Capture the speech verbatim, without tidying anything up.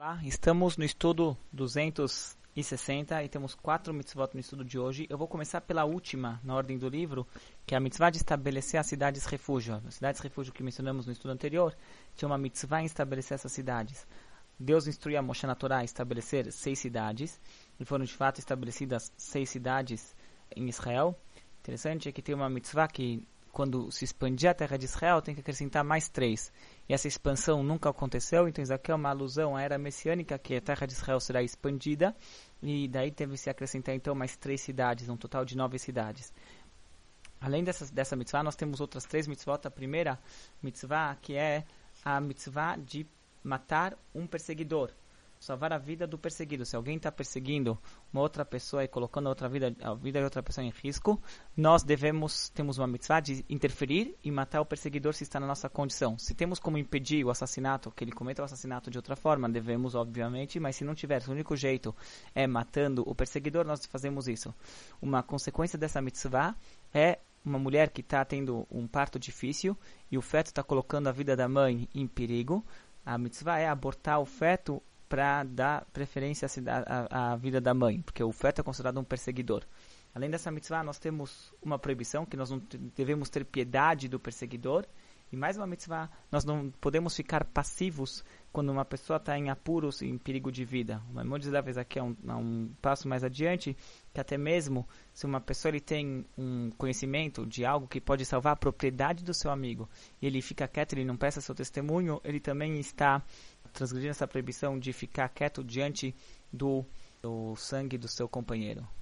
Olá, estamos no estudo duzentos e sessenta e temos quatro mitzvot no estudo de hoje. Eu vou começar pela última na ordem do livro, que é a mitzvah de estabelecer as cidades refúgio. As cidades refúgio que mencionamos no estudo anterior, tinha uma mitzvah em estabelecer essas cidades. Deus instruiu a Moshe na Torá a estabelecer seis cidades, e foram de fato estabelecidas seis cidades em Israel. Interessante é que tem uma mitzvah que, quando se expandir a terra de Israel, tem que acrescentar mais três. E essa expansão nunca aconteceu, então isso aqui é uma alusão à era messiânica, que a terra de Israel será expandida, e daí teve que se acrescentar então mais três cidades, um total de nove cidades. Além dessa, dessa mitzvah, nós temos outras três mitzvot. A primeira mitzvah, que é a mitzvah de matar um perseguidor, salvar a vida do perseguido. Se alguém está perseguindo uma outra pessoa e colocando a, outra vida, a vida de outra pessoa em risco, nós devemos, temos uma mitzvah de interferir e matar o perseguidor se está na nossa condição. Se temos como impedir o assassinato, que ele cometa o assassinato de outra forma, devemos, obviamente, mas se não tiver, o único jeito é matando o perseguidor, nós fazemos isso. Uma consequência dessa mitzvah é uma mulher que está tendo um parto difícil e o feto está colocando a vida da mãe em perigo. A mitzvah é abortar o feto para dar preferência à, à vida da mãe, porque o feto é considerado um perseguidor. Além dessa mitzvah, nós temos uma proibição, que nós não devemos ter piedade do perseguidor. E mais uma mitzvah, nós não podemos ficar passivos quando uma pessoa está em apuros, em perigo de vida. O Maimonides da vez aqui é um, é um passo mais adiante, que até mesmo se uma pessoa ele tem um conhecimento de algo que pode salvar a propriedade do seu amigo, e ele fica quieto, ele não presta seu testemunho, ele também está transgredindo essa proibição de ficar quieto diante do, do sangue do seu companheiro.